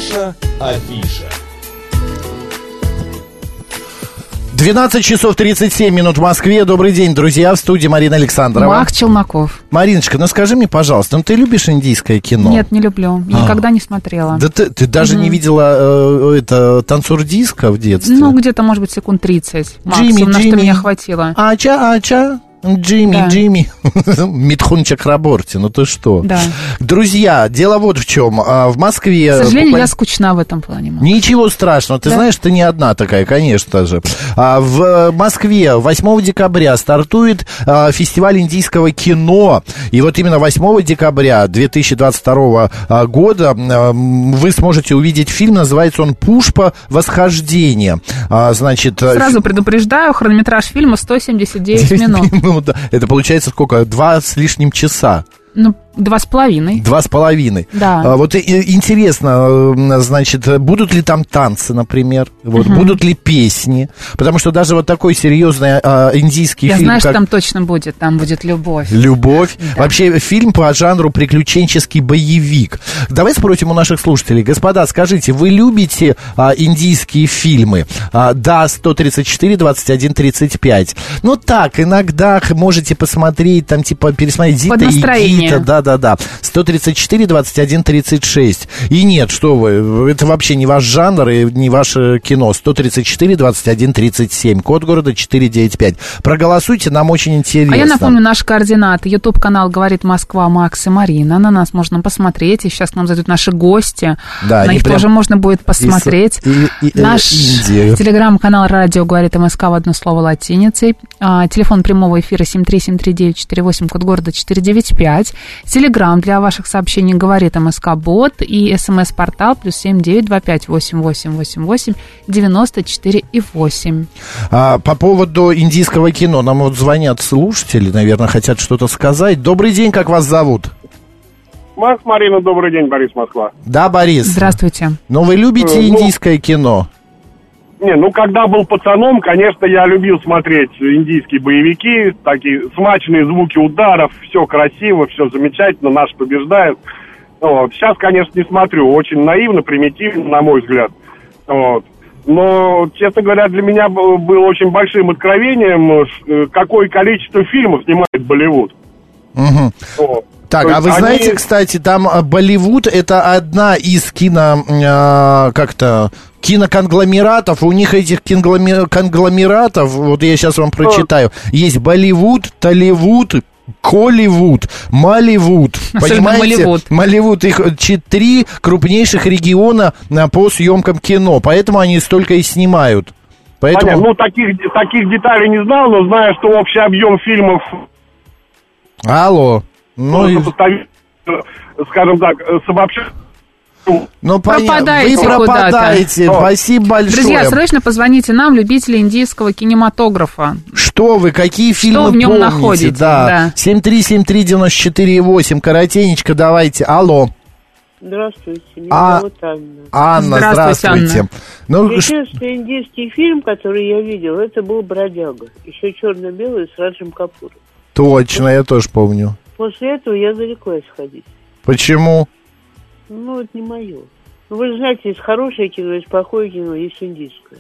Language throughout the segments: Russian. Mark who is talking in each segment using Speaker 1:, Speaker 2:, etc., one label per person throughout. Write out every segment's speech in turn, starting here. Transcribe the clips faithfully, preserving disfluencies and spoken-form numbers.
Speaker 1: Наша афиша.
Speaker 2: двенадцать часов тридцать семь минут в Москве. Добрый день, друзья. В студии Марина Александрова.
Speaker 3: Мах Челноков.
Speaker 2: Мариночка, ну скажи мне, пожалуйста, ну ты любишь индийское кино?
Speaker 3: Нет, не люблю. Никогда а. не смотрела.
Speaker 2: Да ты, ты даже mm-hmm. не видела э, это «Танцор диска» в детстве?
Speaker 3: Ну, где-то, может быть, секунд тридцать. Максимум, Джимми, на Джимми. Что меня хватило.
Speaker 2: Ача, ача. Джимми, да. Джимми, Митхун Чакраборти, ну ты что?
Speaker 3: Да.
Speaker 2: Друзья, дело вот в чем. В Москве...
Speaker 3: К сожалению, буквально... я скучна в этом плане. Мама.
Speaker 2: Ничего страшного, ты да? знаешь, ты не одна такая, конечно же. В Москве восьмого декабря стартует фестиваль индийского кино. И вот именно восьмого декабря две тысячи двадцать второго года вы сможете увидеть фильм, называется он «Пушпа. Восхождение». Значит...
Speaker 3: Сразу предупреждаю, хронометраж фильма сто семьдесят девять минут.
Speaker 2: Это получается сколько? Два с лишним часа.
Speaker 3: Ну, два с половиной.
Speaker 2: Два с половиной.
Speaker 3: Да.
Speaker 2: А, вот и, интересно, значит, будут ли там танцы, например? Вот, угу. Будут ли песни? Потому что даже вот такой серьезный а, индийский
Speaker 3: Я
Speaker 2: фильм...
Speaker 3: Я знаю,
Speaker 2: как...
Speaker 3: что там точно будет. Там будет любовь.
Speaker 2: Любовь.
Speaker 3: Да.
Speaker 2: Вообще, фильм по жанру приключенческий боевик. Давай спросим у наших слушателей. Господа, скажите, вы любите а, индийские фильмы? А, да, сто тридцать четыре двадцать один тридцать пять. Ну так, иногда можете посмотреть, там типа пересмотреть Зита и Гита. Да-да-да. сто тридцать четыре двадцать один тридцать шесть. И нет, что вы, это вообще не ваш жанр и не ваше кино. сто тридцать четыре двадцать один тридцать семь. Код города четыреста девяносто пять. Проголосуйте, нам очень интересно.
Speaker 3: А я напомню наши координаты. Ютуб-канал «Говорит Москва», Макс и Марина. На нас можно посмотреть. И сейчас к нам зайдут наши гости. Да, на них прям... тоже можно будет посмотреть. И, и, и, Наш телеграм-канал «Радио говорит МСК» в одно слово латиницей. А, телефон прямого эфира семь три семь три девять четыре восемь, код города четыреста девяносто пять. Телеграм для ваших сообщений «Говорит МСК-бот» и СМС-портал плюс семь девять два пять восемь восемь восемь восемь девяносто четыре и восемь.
Speaker 2: А, по поводу индийского кино. Нам вот звонят слушатели, наверное, хотят что-то сказать. Добрый день, как вас зовут?
Speaker 4: Макс, Марина, добрый день, Борис, Москва.
Speaker 2: Да, Борис.
Speaker 3: Здравствуйте.
Speaker 2: Ну, вы любите
Speaker 4: ну,
Speaker 2: индийское кино?
Speaker 4: Не, ну, когда был пацаном, конечно, я любил смотреть индийские боевики, такие смачные звуки ударов, все красиво, все замечательно, наш побеждает. Вот. Сейчас, конечно, не смотрю, очень наивно, примитивно, на мой взгляд. Вот. Но, честно говоря, для меня было очень большим откровением, какое количество фильмов снимает Болливуд.
Speaker 2: Угу. Вот. Так, а вы они... знаете, кстати, там Болливуд — это одна из кино... Э, как-то... киноконгломератов, у них этих конгломератов, вот я сейчас вам прочитаю, есть Болливуд, Толливуд, Колливуд, Малливуд, понимаете?
Speaker 3: Малливуд.
Speaker 2: Малливуд, их три крупнейших региона по съемкам кино, поэтому они столько и снимают. Поэтому...
Speaker 4: Понятно, ну таких, таких деталей не знал, но знаю, что общий объем фильмов...
Speaker 2: Алло. Ну, и...
Speaker 4: скажем так, с обобщением...
Speaker 2: Ну,
Speaker 3: пропадаете
Speaker 2: вы пропадаете.
Speaker 3: Куда-то.
Speaker 2: Спасибо большое.
Speaker 3: Друзья, срочно позвоните нам, любители индийского кинематографа.
Speaker 2: Что вы, какие фильмы
Speaker 3: Что в нем
Speaker 2: помните?
Speaker 3: находите?
Speaker 2: Да.
Speaker 3: Да.
Speaker 2: семь три семь три девять четыре восемь. Коротенечко давайте. Алло.
Speaker 5: Здравствуйте, меня
Speaker 2: а...
Speaker 5: зовут Анна.
Speaker 2: Анна, здравствуйте. здравствуйте.
Speaker 5: Анна.
Speaker 2: Ну,
Speaker 5: единственный индийский фильм, который я видел, это был «Бродяга». Еще черно-белый с Раджем Капуром.
Speaker 2: Точно, я тоже помню.
Speaker 5: После этого я зареклась ходить.
Speaker 2: Почему?
Speaker 5: Ну, это не мое. Ну, вы же знаете, есть хорошее кино, есть плохое кино, есть индийское.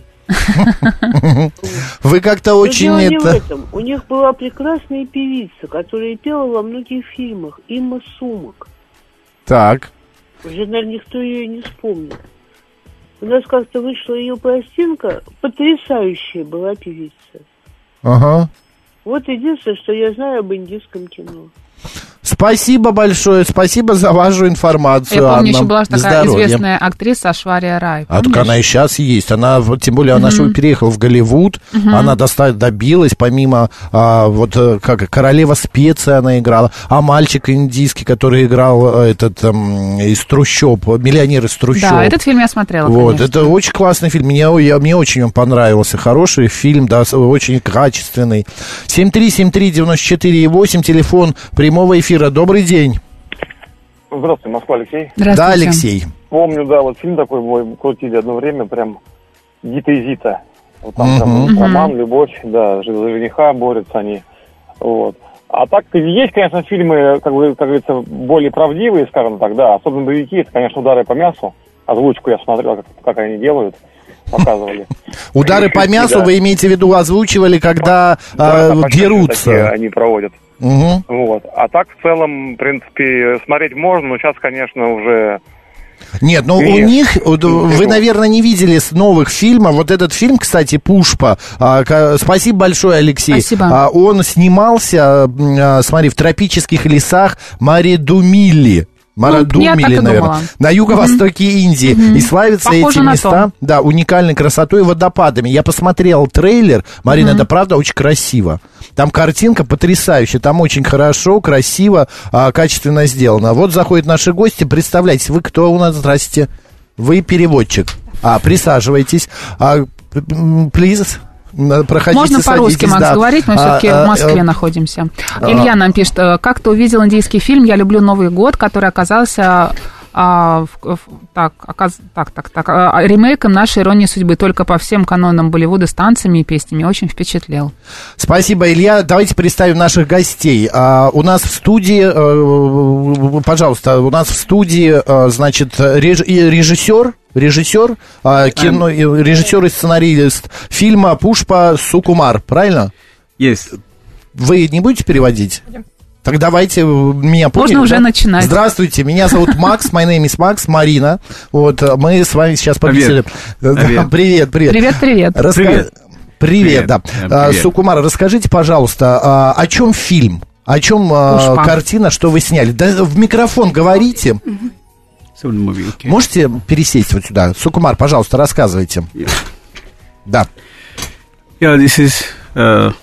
Speaker 2: Вы как-то очень...
Speaker 5: Но дело не в этом. У них была прекрасная певица, которая пела во многих фильмах. Имма Сумак.
Speaker 2: Так.
Speaker 5: Уже, наверное, никто ее не вспомнил. У нас как-то вышла ее пластинка. Потрясающая была певица.
Speaker 2: Ага.
Speaker 5: Вот единственное, что я знаю об индийском кино.
Speaker 2: Спасибо большое, спасибо за вашу информацию,
Speaker 3: Я помню,
Speaker 2: Анна.
Speaker 3: еще была такая
Speaker 2: Здоровья.
Speaker 3: известная актриса Ашвария Рай.
Speaker 2: А так она и сейчас есть. Она, тем более, она uh-huh. переехала в Голливуд. Uh-huh. Она доста- добилась, помимо а, вот как королева специй она играла, а мальчик индийский, который играл этот um, из трущоб, миллионер из трущоб. Да,
Speaker 3: этот фильм я смотрела.
Speaker 2: Вот,
Speaker 3: конечно.
Speaker 2: это очень классный фильм. Мне, я, мне очень он понравился. Хороший фильм, да, очень качественный. семь три семь три девять четыре восемь, телефон прямого эфира. Добрый день.
Speaker 6: Здравствуйте, Москва, Алексей.
Speaker 3: Здравствуйте.
Speaker 2: Да, Алексей.
Speaker 6: Помню, да, вот фильм такой мой крутили одно время, прям Гита и Зита. Вот там,
Speaker 2: uh-huh.
Speaker 6: там роман, любовь, да, за жениха борются они. Вот. А так есть, конечно, фильмы, как, бы, как говорится, более правдивые, скажем так, да, особенно боевики, это, конечно, удары по мясу. озвучку я смотрел, как, как они делают, показывали.
Speaker 2: Удары по мясу вы имеете в виду озвучивали, когда дерутся?
Speaker 6: Они проводят. Вот. А так, в целом, в принципе, смотреть можно, но сейчас, конечно, уже...
Speaker 2: Нет, ну у них, вы, наверное, не видели с новых фильмов. Вот этот фильм, кстати, «Пушпа». Спасибо большое, Алексей.
Speaker 3: Спасибо.
Speaker 2: Он снимался, смотри, в тропических лесах Маредумилли. Марадумили, ну, наверное, на юго-востоке mm-hmm. Индии. Mm-hmm. И славятся Похоже эти места, да, уникальной красотой и водопадами. Я посмотрел трейлер, Марина, mm-hmm. это правда очень красиво. Там картинка потрясающая, там очень хорошо, красиво, а, качественно сделано. Вот заходят наши гости, представляете, вы кто у нас, здрасте, вы переводчик. А, присаживайтесь. А, please. Проходите,
Speaker 3: можно по-русски, Макс,
Speaker 2: да.
Speaker 3: говорить, мы все-таки а, в Москве а, находимся. А, Илья нам пишет, как ты увидел индийский фильм «Я люблю Новый год», который оказался а, в, в, так, оказ, так, так, так, а, ремейком нашей «Иронии судьбы», только по всем канонам Болливуда с танцами и песнями. Очень впечатлел.
Speaker 2: Спасибо, Илья. Давайте представим наших гостей. А, у нас в студии, а, пожалуйста, у нас в студии, а, значит, реж, режиссер, Режиссер, а, кино, режиссер и сценарист фильма «Пушпа» Сукумар, правильно?
Speaker 1: Yes.
Speaker 2: Вы не будете переводить?
Speaker 1: Yeah.
Speaker 2: Так давайте, меня поняли.
Speaker 3: Можно уже
Speaker 2: да?
Speaker 3: начинать.
Speaker 2: Здравствуйте, меня зовут Макс, my name is Макс, Марина. Вот, мы с вами сейчас побеседуем.
Speaker 1: Привет.
Speaker 2: Привет, привет.
Speaker 3: Привет, привет.
Speaker 2: Раска... Привет. Привет, привет, да.
Speaker 1: Привет.
Speaker 2: Сукумар, расскажите, пожалуйста, о чем фильм? О чем Пушпа. Картина, что вы сняли? Да в микрофон говорите.
Speaker 1: Movie, okay.
Speaker 2: Можете пересесть вот сюда? Сукумар, пожалуйста, рассказывайте.
Speaker 1: Yeah.
Speaker 2: Да.
Speaker 1: Yeah, this is uh,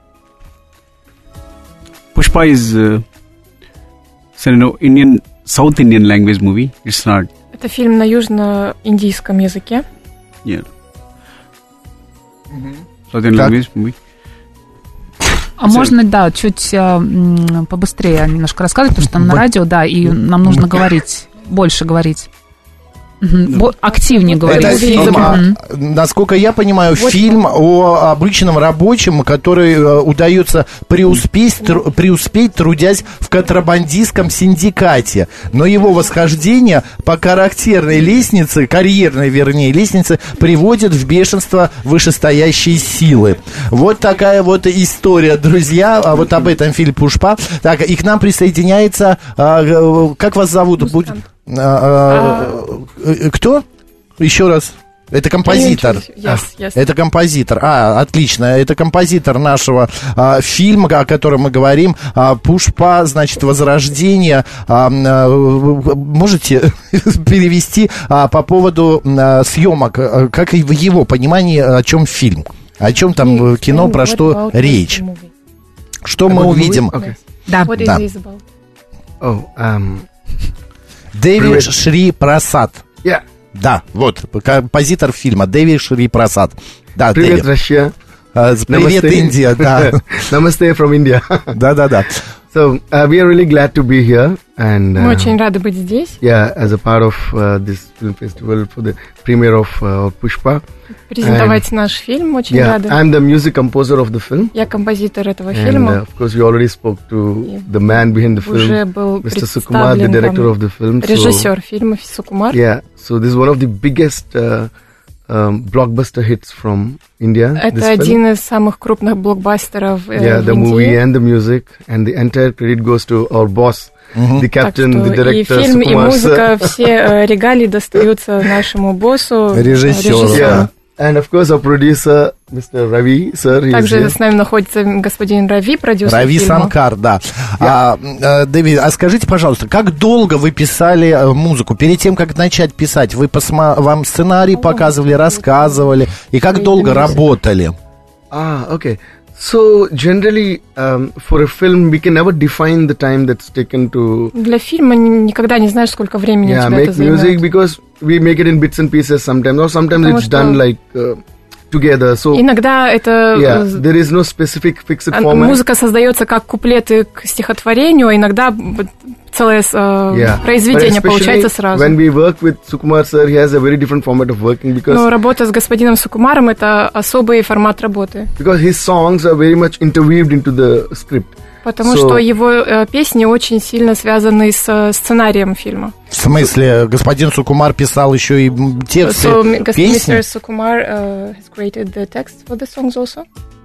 Speaker 1: Pushpa is uh, so, you know, Indian, South Indian language movie. It's not.
Speaker 7: Это фильм на южно-индийском языке.
Speaker 1: Yeah. Mm-hmm. South Indian так. language movie.
Speaker 3: А so, можно, да, чуть э, побыстрее немножко рассказывать, потому что там на радио, да, и нам нужно говорить. Больше говорить. Угу. Активнее говорить.
Speaker 2: Это фильм, mm-hmm. насколько я понимаю, вот. Фильм о обычном рабочем, который э, удается преуспеть, тру, преуспеть, трудясь в контрабандистском синдикате. Но его восхождение по характерной лестнице, карьерной, вернее, лестнице, приводит в бешенство вышестоящие силы. Вот такая вот история, друзья. А вот об этом фильм «Пушпа». Так, и к нам присоединяется... Э, как вас зовут? Будет... А, а, кто? Еще раз. Это композитор.
Speaker 7: Yes, yes.
Speaker 2: Это композитор. А, отлично. Это композитор нашего а, фильма, о котором мы говорим. А, «Пушпа», значит, «Возрождение». А, а, можете перевести а, по поводу а, съемок, как и в его понимании, о чем фильм? О чем там кино, про что речь? Что мы увидим?
Speaker 3: Okay. Да.
Speaker 2: да.
Speaker 8: Oh, um...
Speaker 2: Деви Шри Прасад.
Speaker 8: Yeah.
Speaker 2: Да, вот, композитор фильма Деви Шри Прасад. Да,
Speaker 8: привет, Россия.
Speaker 2: Uh, привет, Индия, да.
Speaker 8: Namaste from India.
Speaker 2: Да, да, да.
Speaker 8: So, uh, we are really glad to be here. And, uh,
Speaker 7: Мы очень рады быть здесь.
Speaker 8: Yeah, as a part of uh, this film festival for the premiere of uh, Pushpa.
Speaker 7: Презентовать and, наш фильм, очень
Speaker 8: yeah,
Speaker 7: рады.
Speaker 8: I'm the music composer of the film.
Speaker 7: Я композитор этого
Speaker 8: and,
Speaker 7: фильма.
Speaker 8: Uh, of course, we already spoke to the man behind the film,
Speaker 7: уже был
Speaker 8: Mister Sukumar, the director of the film.
Speaker 7: Режиссер so, фильма Сукумар.
Speaker 8: Yeah, so this is one of the biggest uh, um, blockbuster hits from India.
Speaker 7: Это один из самых крупных блокбастеров
Speaker 8: yeah,
Speaker 7: в
Speaker 8: the
Speaker 7: Индии.
Speaker 8: Movie and the music, and the entire credit goes to our boss. Mm-hmm. The captain, the director,
Speaker 7: и фильм,
Speaker 8: Sukumar,
Speaker 7: и музыка, все э, регалии достаются нашему боссу,
Speaker 2: режиссеру.
Speaker 8: Yeah. And of course our producer, Mister Ravi, sir.
Speaker 7: Также
Speaker 8: here.
Speaker 7: с нами находится господин Рави, продюсер
Speaker 2: Рави
Speaker 7: фильма.
Speaker 2: Санкар, да.
Speaker 8: Yeah.
Speaker 2: А, а, Дэвид, а скажите, пожалуйста, как долго вы писали музыку? Перед тем, как начать писать, вы посма... вам сценарий показывали, рассказывали, и как долго работали?
Speaker 8: Ah, okay. So generally, um, for a film, we can never define the time that's taken to.
Speaker 7: Для фильма никогда не знаешь, сколько времени
Speaker 8: yeah,
Speaker 7: у тебя это займет.
Speaker 8: Yeah, make music because we make it in bits and pieces sometimes, or sometimes
Speaker 7: Потому
Speaker 8: it's
Speaker 7: что
Speaker 8: done like uh, together. So
Speaker 7: иногда это.
Speaker 8: Yeah, there is no specific fixed format.
Speaker 7: Музыка создается как куплеты к стихотворению, а иногда целое uh, yeah. произведение получается сразу.
Speaker 8: When we work with Sukumar sir, he has a very different format of working because.
Speaker 7: Но работа с господином Сукумаром — это особый формат работы.
Speaker 8: Because his songs are very much interweaved into the script.
Speaker 7: Потому so, что его э, песни очень сильно связаны с э, сценарием фильма.
Speaker 2: В смысле, господин Сукумар писал еще и тексты
Speaker 7: so,
Speaker 2: песни?
Speaker 7: мистер Сукумар uh, has created the text for the songs also.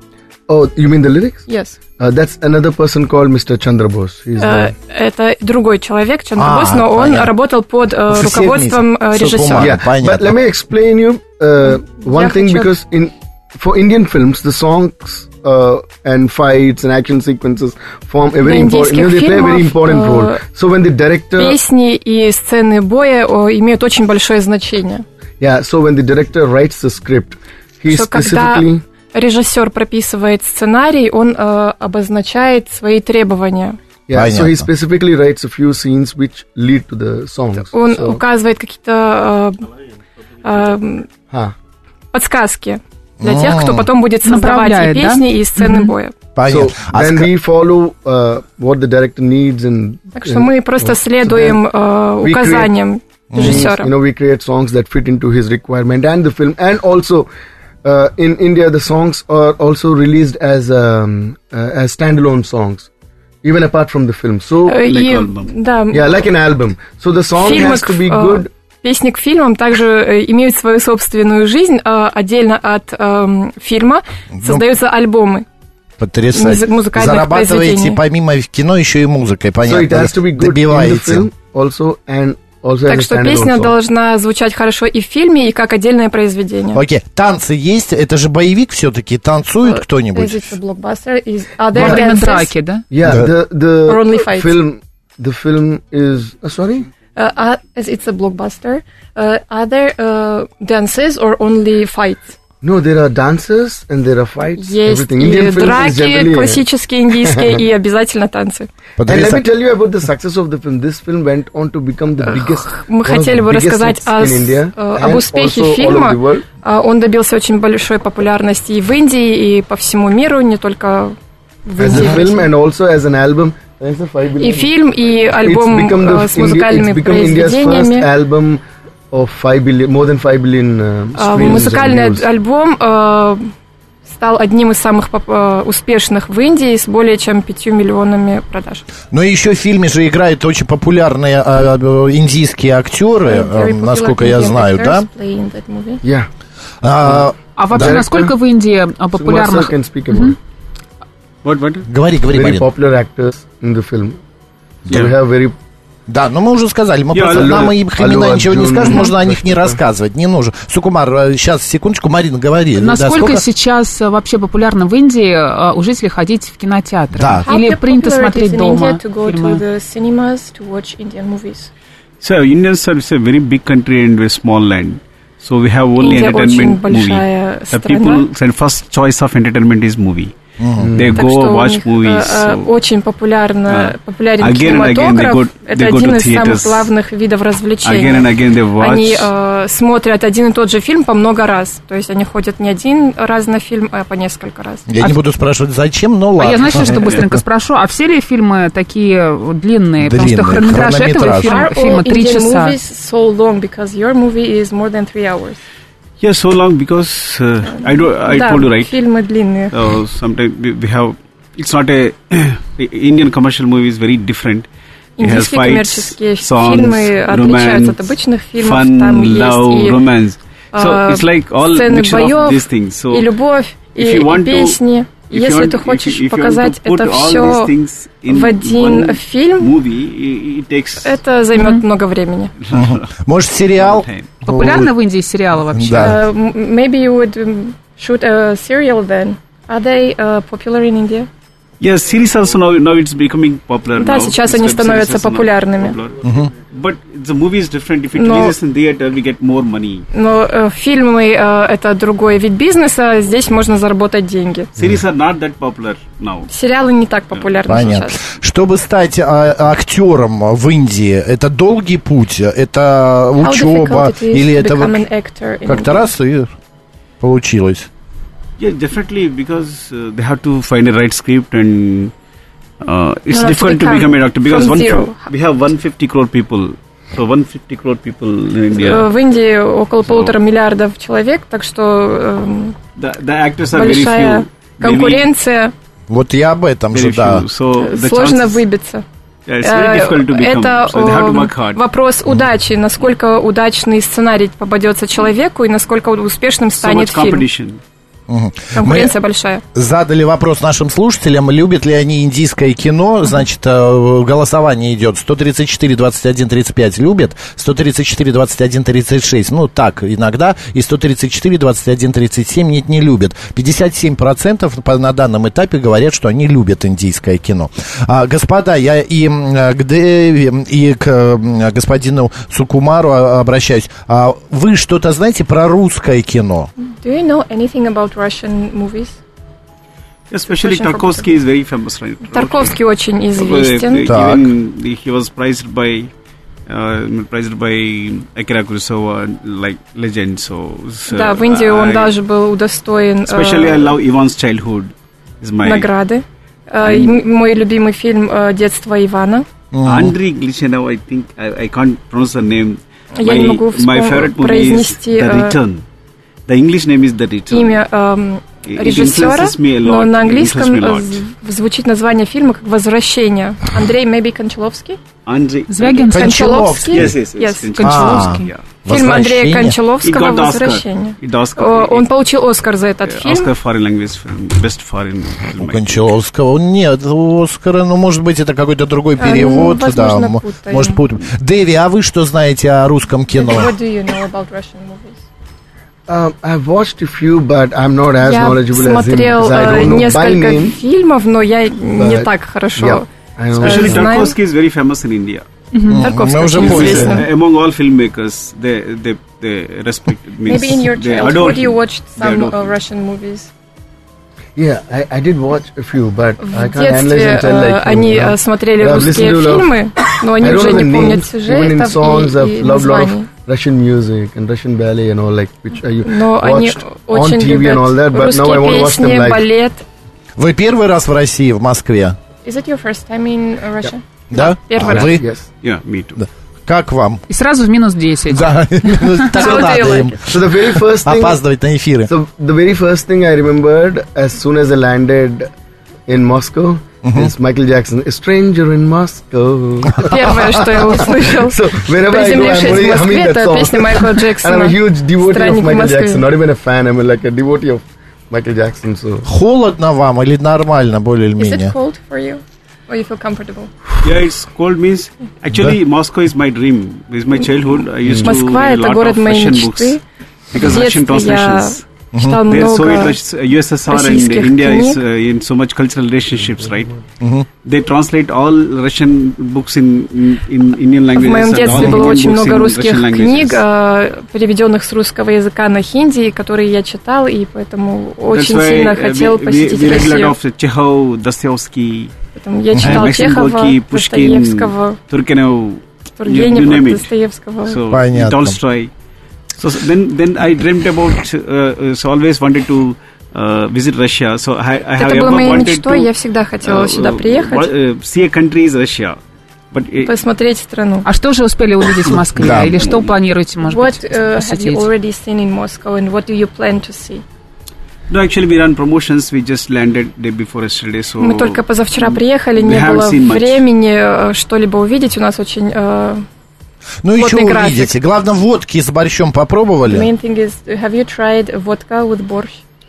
Speaker 8: Oh, you mean the lyrics?
Speaker 7: Yes.
Speaker 8: Uh, that's another person called мистер Chandra Bose.
Speaker 7: Uh, это другой человек, Чандра Бос, но он понятно. работал под uh, руководством uh, режиссера.
Speaker 8: Yeah, but let me explain you uh, one thing хочу... because in for Indian films the songs uh, and fights and action sequences form a very important. You know, they play a very important uh, role. So when the director
Speaker 7: песни и сцены боя uh, имеют очень большое значение.
Speaker 8: Yeah. So when the director writes the script, he so specifically.
Speaker 7: Режиссер прописывает сценарий, он э, обозначает свои требования.
Speaker 8: Yeah, so he specifically writes a few scenes which lead to the songs.
Speaker 7: Он
Speaker 8: so.
Speaker 7: указывает какие-то э, э, huh. подсказки для тех, кто потом будет создавать и песни, да? И сцены mm-hmm. боя.
Speaker 8: So then we follow uh, what the director needs and.
Speaker 7: Так что мы просто следуем э, указаниям режиссера.
Speaker 8: You know, we create songs that fit into his requirement and the film, and also. Uh, in India, the songs are also released as um, uh, as standalone songs, even apart from the film. So,
Speaker 7: uh, like и, album. Да,
Speaker 8: yeah, like an album. So the song has to be good.
Speaker 7: Песни к фильмам также имеют свою собственную жизнь, отдельно от э, фильма создаются ну, альбомы.
Speaker 2: Потрясающе. Зарабатываете помимо кино еще и музыкой, понятно?
Speaker 8: So it has to be good in the film also and Also
Speaker 7: так что песня должна звучать хорошо и в фильме, и как отдельное произведение.
Speaker 2: Окей, okay. Танцы есть? Это же боевик все-таки. Танцует uh, кто-нибудь?
Speaker 7: Is it a blockbuster? Is, are there dances?
Speaker 3: Драки, да?
Speaker 8: Yeah, the, the
Speaker 7: Or only fights?
Speaker 8: film, the film is... Uh, sorry?
Speaker 7: Uh, uh, as it's a blockbuster, uh, are there uh, dances or only fights?
Speaker 8: No, there are dances and there are fights.
Speaker 7: Есть и драки классические индийские и обязательно танцы.
Speaker 8: And let me tell you about the success of the film. This film went on to become the biggest.
Speaker 7: Мы хотели бы рассказать о, об успехе фильма. Он добился очень большой популярности и в Индии, и по всему миру, не только в Индии.
Speaker 8: As a film and also as an album.
Speaker 7: И фильм, и альбом с музыкальными произведениями.
Speaker 8: Of five billion, more than five billion uh,
Speaker 7: музыкальный альбом uh, стал одним из самых uh, успешных в Индии с более чем пятью миллионами продаж.
Speaker 2: Ну и еще в фильме же играют очень популярные uh, индийские актеры, uh, насколько я знаю, да?
Speaker 8: Yeah.
Speaker 3: Uh, а вообще, director, насколько в Индии популярных...
Speaker 8: Mm-hmm.
Speaker 1: What, what?
Speaker 2: Говори, говори,
Speaker 8: Very popular actors in the film. So yeah. we have very
Speaker 2: Да, но мы уже сказали, мы yeah, просто, нам их имена ничего не скажем, можно о них не рассказывать, не нужно. Сукумар, сейчас, секундочку, Марина, говори.
Speaker 3: Насколько
Speaker 2: да,
Speaker 3: сейчас вообще популярно в Индии у жителей ходить в кинотеатры?
Speaker 2: Да.
Speaker 3: Или принято смотреть дома фильмы?
Speaker 1: So, India is a very big country and a small land. So, we have only
Speaker 7: Индия
Speaker 1: entertainment movie.
Speaker 7: The
Speaker 1: people, their first choice of entertainment is movie. Mm-hmm. They
Speaker 7: так
Speaker 1: go watch movies.
Speaker 7: Uh, so. Очень популярно, uh, популярен again кинематограф. Go, это один из самых главных видов развлечений.
Speaker 1: Again and again they watch.
Speaker 7: Они uh, смотрят один и тот же фильм по много раз. То есть они ходят не один раз на фильм, а по несколько раз.
Speaker 2: Я
Speaker 7: а
Speaker 2: не буду спрашивать, зачем, но ладно.
Speaker 3: А я, знаете, что быстренько спрошу? А все ли фильмы такие длинные? Потому что хронометраж этого фильма, фильма три часа.
Speaker 7: So long because your movie is more than three hours.
Speaker 1: Yeah, so long because uh, I do. I
Speaker 7: да,
Speaker 1: told you right.
Speaker 7: Фильмы длинные.
Speaker 1: Uh, sometimes we have. It's not a Indian commercial movie is very different.
Speaker 7: Индийские коммерческие фильмы отличаются от обычных фильмов. Там есть и
Speaker 1: romance. So it's like all mixture of these things. So
Speaker 7: и любовь, и песни. Если ты хочешь показать это все в один фильм, это займет много времени.
Speaker 2: Может, сериал?
Speaker 3: Популярны в Индии сериалы вообще?
Speaker 2: Да.
Speaker 7: Maybe you would shoot a serial then. Are they uh, popular in India?
Speaker 1: Yes, series also now, now it's becoming popular.
Speaker 7: Да,
Speaker 1: now.
Speaker 7: сейчас они становятся популярными.
Speaker 1: Uh-huh. But the movie is different. If it
Speaker 7: но,
Speaker 1: releases in theater, we get more money.
Speaker 7: Но э, фильмы э, это другой вид бизнеса, здесь можно заработать деньги.
Speaker 1: Series are not that popular now.
Speaker 7: Сериалы не так популярны
Speaker 2: Понятно.
Speaker 7: сейчас.
Speaker 2: Чтобы стать а, актером в Индии, это долгий путь, это учеба или это как-то раз и получилось?
Speaker 1: Yeah, definitely, because uh, they have to find a right script and Uh, it's no, difficult to become, to become a doctor because one, we have one hundred fifty crore people. So one hundred fifty crore people in India.
Speaker 7: В Индии около so, полутора миллиардов человек, так что э,
Speaker 1: the, the actors are
Speaker 7: большая
Speaker 1: very few,
Speaker 7: конкуренция.
Speaker 2: Вот я об этом же, да.
Speaker 1: So
Speaker 7: сложно выбиться.
Speaker 1: Yeah, it's very difficult to become.
Speaker 7: Это
Speaker 1: so they have to work hard.
Speaker 7: Вопрос удачи, насколько удачный сценарий попадется человеку и насколько успешным станет
Speaker 1: so much
Speaker 7: фильм. Угу. Конкуренция
Speaker 2: Мы
Speaker 7: большая.
Speaker 2: Задали вопрос нашим слушателям, любят ли они индийское кино. Значит, голосование идет сто тридцать четыре двадцать один тридцать пять любят, сто тридцать четыре двадцать один тридцать шесть, ну так иногда, и сто тридцать четыре двадцать один тридцать семь нет, не любят. пятьдесят семь процентов на данном этапе говорят, что они любят индийское кино. А, господа, я и к Дэви, и к господину Сукумару обращаюсь. А вы что-то знаете про русское кино?
Speaker 7: Do you know anything about Russian movies?
Speaker 1: Especially Tarkovsky is very famous, right?
Speaker 7: Тарковский очень известен.
Speaker 1: Even he was prized by uh, prized by Akira Kurosawa, like legend. So, so
Speaker 7: да, в Индии он
Speaker 1: I,
Speaker 7: даже был удостоен.
Speaker 1: Especially uh, I love Ivan's Childhood. Is my
Speaker 7: награды. Uh, мой любимый фильм uh, «Детство Ивана».
Speaker 1: Andrei Glichenov, I think I, I can't pronounce the name.
Speaker 7: Я
Speaker 1: my,
Speaker 7: не могу
Speaker 1: my favorite movie is The Return. The English name is The Return.
Speaker 7: Имя э, режиссера, но на английском звучит название фильма как «Возвращение». Андрей, maybe Кончаловский?
Speaker 1: Андрей
Speaker 7: Звягин? Кончаловский?
Speaker 1: Yes, yes, yes.
Speaker 7: yes. Кончаловский. Yeah. Фильм Андрея Кончаловского «Возвращение». Он получил Оскар за этот фильм.
Speaker 1: Оскар foreign language film, best foreign film.
Speaker 2: У Кончаловского нет Оскара, но может быть это какой-то другой перевод.
Speaker 7: Ну,
Speaker 2: да,
Speaker 7: путаем.
Speaker 2: Может путаем. Дэви, а вы что знаете о русском кино?
Speaker 7: What do you know about Russian movies?
Speaker 8: Um, I've watched a few, but I'm not as
Speaker 7: я
Speaker 8: knowledgeable as him.
Speaker 7: Я смотрел несколько
Speaker 8: name,
Speaker 7: фильмов, но я не так хорошо
Speaker 1: yeah, Especially Tarkovsky is very famous in India.
Speaker 7: Mm-hmm. Tarkovsky очень известен.
Speaker 1: Among all filmmakers, they they they respect.
Speaker 7: Maybe in your childhood you watched some uh, Russian movies.
Speaker 8: Yeah, I, I did watch a few, but
Speaker 7: в
Speaker 8: I can't analyze and tell like.
Speaker 7: Они uh, смотрели русские фильмы, но они уже не помнят сюжетов и названий.
Speaker 8: Russian music and Russian ballet and all, like, which I
Speaker 7: Но
Speaker 8: watched on T V and all that, but now I want to watch them live.
Speaker 7: Балет.
Speaker 2: Вы первый раз в России, в Москве?
Speaker 7: Is it your first time in Russia?
Speaker 2: Да?
Speaker 7: Первый
Speaker 2: а
Speaker 7: раз.
Speaker 2: Вы?
Speaker 8: Yes.
Speaker 1: Yeah, me too.
Speaker 2: Да. Как вам?
Speaker 3: И сразу в минус десять.
Speaker 2: Да, так надо им.
Speaker 8: So the very first thing,
Speaker 2: опаздывать на эфиры.
Speaker 8: So the very first thing I remembered as soon as I landed in Moscow uh-huh. is Michael Jackson, A Stranger in Moscow.
Speaker 7: Первое, что я услышал,
Speaker 8: so,
Speaker 7: приземлившись в Москве, это песня Майкла Джексона.
Speaker 8: And I'm a huge devotee of Michael Jackson, not even a fan, I'm like a devotee of Michael Jackson. So.
Speaker 2: Холодно вам или нормально, более или менее?
Speaker 7: Is it cold for you? Or you feel comfortable?
Speaker 1: Yeah, it's cold means actually Moscow is my dream. It's my childhood. I used
Speaker 7: Москва
Speaker 1: to read a lot of Russian books because Russian translations.
Speaker 7: Читал
Speaker 1: They're
Speaker 7: много
Speaker 1: Soviet, U S S R and India is uh, in so much cultural relationships, right? Mm-hmm. They translate all Russian books in, in, in Indian languages.
Speaker 7: В моем детстве было очень много русских книг, переведенных с русского языка на хинди, которые я читал, и поэтому очень сильно хотел посетить Россию.
Speaker 1: Чехов, Достоевский.
Speaker 7: Я читал Чехова, Достоевского,
Speaker 1: Тургенева,
Speaker 7: Тургенева, Достоевского,
Speaker 2: Понятно.
Speaker 1: Толстой. So then, then I dreamt about, uh, so always wanted to uh, visit Russia. So I, I have ever wanted to.
Speaker 7: Я всегда хотела сюда приехать.
Speaker 1: Uh, see a country is Russia. But
Speaker 7: посмотреть страну.
Speaker 3: А что же успели увидеть в Москве? Да. Или что планируете, может
Speaker 7: what,
Speaker 3: быть,
Speaker 7: uh,
Speaker 3: посетить?
Speaker 7: Have you already seen in Moscow and what do you plan to see?
Speaker 1: No, actually we run promotions. We just landed day before yesterday. So
Speaker 7: мы только позавчера приехали, не было времени что-либо увидеть. У нас очень uh,
Speaker 2: Ну и что увидите? Главное, водки с борщом попробовали?
Speaker 7: The main thing is, have you tried vodka with борщ?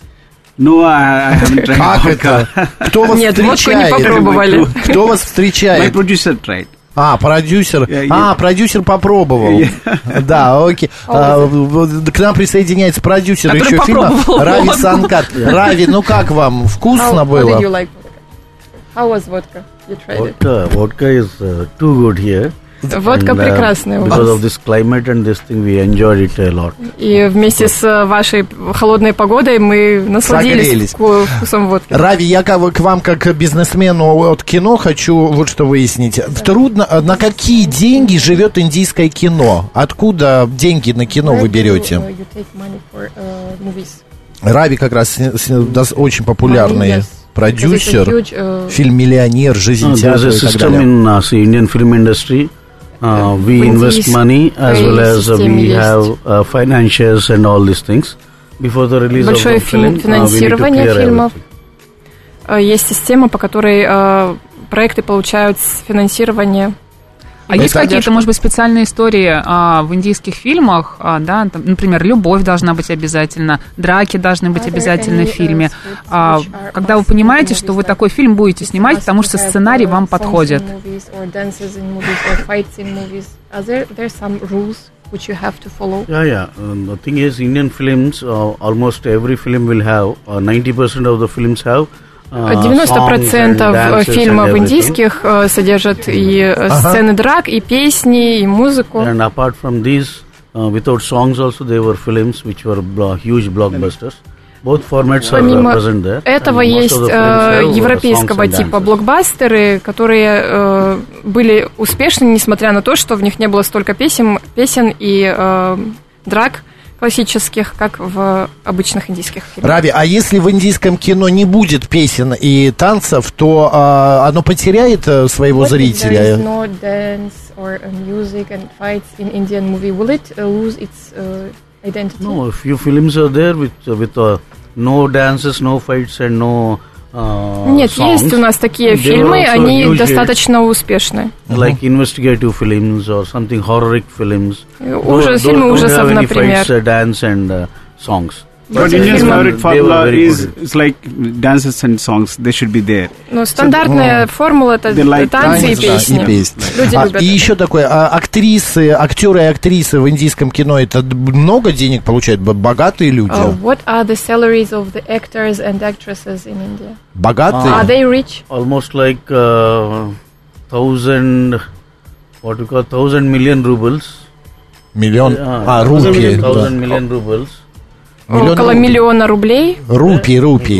Speaker 1: No, I haven't tried
Speaker 2: как
Speaker 1: vodka.
Speaker 2: Это? Кто вас
Speaker 7: Нет,
Speaker 2: встречает?
Speaker 7: водку не попробовали.
Speaker 2: Кто вас встречает?
Speaker 1: My producer tried.
Speaker 2: А, продюсер. Yeah, yeah. А, продюсер попробовал. Yeah. Да, окей. А, к нам присоединяется продюсер
Speaker 3: который
Speaker 2: еще фильма Рави
Speaker 3: водку.
Speaker 2: Санкар. Рави, ну как вам? Вкусно
Speaker 7: how,
Speaker 2: было?
Speaker 7: How did you like vodka? How was vodka? You tried
Speaker 9: vodka,
Speaker 7: it?
Speaker 9: Vodka is uh, too good here.
Speaker 7: Водка and, uh, прекрасная у вас.
Speaker 9: Because of this climate and this thing, we enjoyed it a lot.
Speaker 7: И вместе с вашей холодной погодой мы насладились вкусом водки.
Speaker 2: Рави, я к вам как бизнесмену от кино хочу вот что выяснить. Трудно, на какие деньги живет индийское кино? Откуда деньги на кино вы берете?
Speaker 7: You take money for, uh, movies?
Speaker 2: Рави как раз очень популярный. продюсер, huge, uh, фильм «Миллионер», «Жизнь
Speaker 9: no,
Speaker 2: театра» и так далее.
Speaker 9: In uh, Indian film industry, uh, we invest money as well as uh, we have uh, financials and all these things. Before the release
Speaker 7: Большое
Speaker 9: of the film,
Speaker 7: финансирование
Speaker 9: uh,
Speaker 7: фильмов. Uh, есть система, по которой uh, проекты получают финансирование.
Speaker 3: А есть какие-то, может быть, специальные истории а, в индийских фильмах, а, да, там, например, любовь должна быть обязательно, драки должны быть обязательно в фильме. А, когда вы понимаете, что вы такой фильм будете снимать, потому что сценарий вам подходит.
Speaker 9: Which you have to follow? Yeah, yeah. Um, the thing is, Indian films, uh, almost every film will have, uh, ninety percent of the films have
Speaker 7: девяносто процентов фильмов индийских uh, содержат и uh, сцены драк, и песни, и музыку.
Speaker 9: And apart from these, uh, without songs also, there were films which were blo- huge blockbusters. Both formats are present there.
Speaker 7: Этого есть uh, европейского типа блокбастеры, которые uh, были успешны, несмотря на то, что в них не было столько песен, песен и uh, драк классических, как в обычных индийских фильмах.
Speaker 2: Рави, а если в индийском кино не будет песен и танцев, то а, оно потеряет а, своего What зрителя?
Speaker 7: No dance or music and fights in Indian movie, will it uh, lose its uh, identity?
Speaker 9: No, a few films are there with uh, with uh, no dances, no fights and no Uh,
Speaker 7: Нет,
Speaker 9: songs.
Speaker 7: Есть у нас такие фильмы, они достаточно успешны.
Speaker 9: Like investigative films or something horrific films.
Speaker 7: Ужас, фильмы ужасов, например.
Speaker 9: Fights, uh, dance and uh, songs.
Speaker 1: But India's favorite formula is it's like dances and songs. They should be there.
Speaker 7: Ну, стандартная so, формула это like танцы и песни.
Speaker 2: И, песни.
Speaker 7: Люди
Speaker 2: а,
Speaker 7: любят.
Speaker 2: И еще такое, а, актрисы, актеры и актрисы в индийском кино, это много денег получают? Богатые люди?
Speaker 7: Uh, what are the salaries of the actors and actresses in India?
Speaker 2: Bogатые?
Speaker 7: Uh, are they rich?
Speaker 9: Almost like uh, thousand, what we call thousand million rubles.
Speaker 2: Миллион,
Speaker 9: uh,
Speaker 2: а, рупии.
Speaker 9: Thousand да. million rubles.
Speaker 7: Миллион Около рублей. Миллиона рублей.
Speaker 2: Рупий, рупий.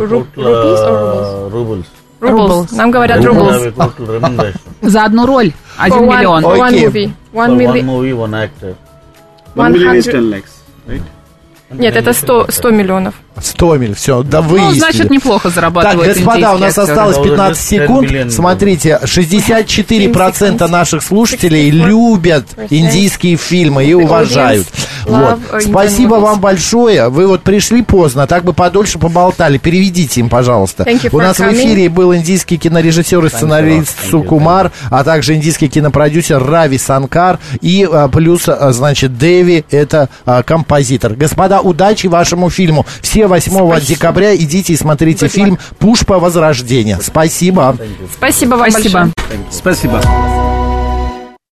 Speaker 9: Рубль.
Speaker 7: Рубль. Нам говорят рубль.
Speaker 3: За одну роль один миллион.
Speaker 7: One movie.
Speaker 9: One movie, one actor.
Speaker 1: One million is ten lakhs, right?
Speaker 7: Нет, это сто миллионов.
Speaker 2: сто миллионов, все, да выяснили.
Speaker 3: Ну, значит, неплохо зарабатывают.
Speaker 2: Так, господа, у нас
Speaker 3: актеры.
Speaker 2: осталось пятнадцать секунд. Смотрите, шестьдесят четыре процента наших слушателей любят индийские фильмы и уважают. Вот. Спасибо вам большое. Вы вот пришли поздно, так бы подольше поболтали. Переведите им, пожалуйста. У нас в эфире был индийский кинорежиссер и сценарист Сукумар, а также индийский кинопродюсер Рави Санкар и плюс, значит, Деви, это композитор. Господа, удачи вашему фильму. Все восьмого декабря идите и смотрите фильм «Пушпа. Возрождение». Спасибо.
Speaker 7: Спасибо вам
Speaker 3: Спасибо.
Speaker 7: большое.
Speaker 1: Спасибо.